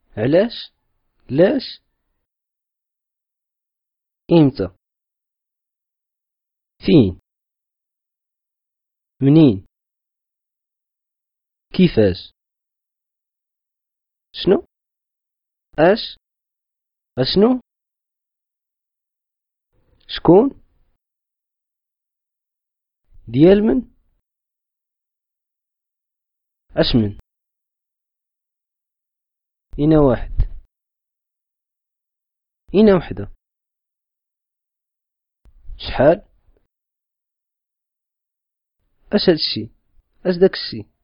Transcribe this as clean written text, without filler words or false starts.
علاش؟ لاش؟ إمتى؟ فين؟ منين؟ كيفاش؟ شنو؟ اش؟ اشنو؟ شكون؟ ديال من؟ اش من؟ إنا واحد؟ إنا وحدة؟ شحال؟ اش هادشي؟ اش داك الشي؟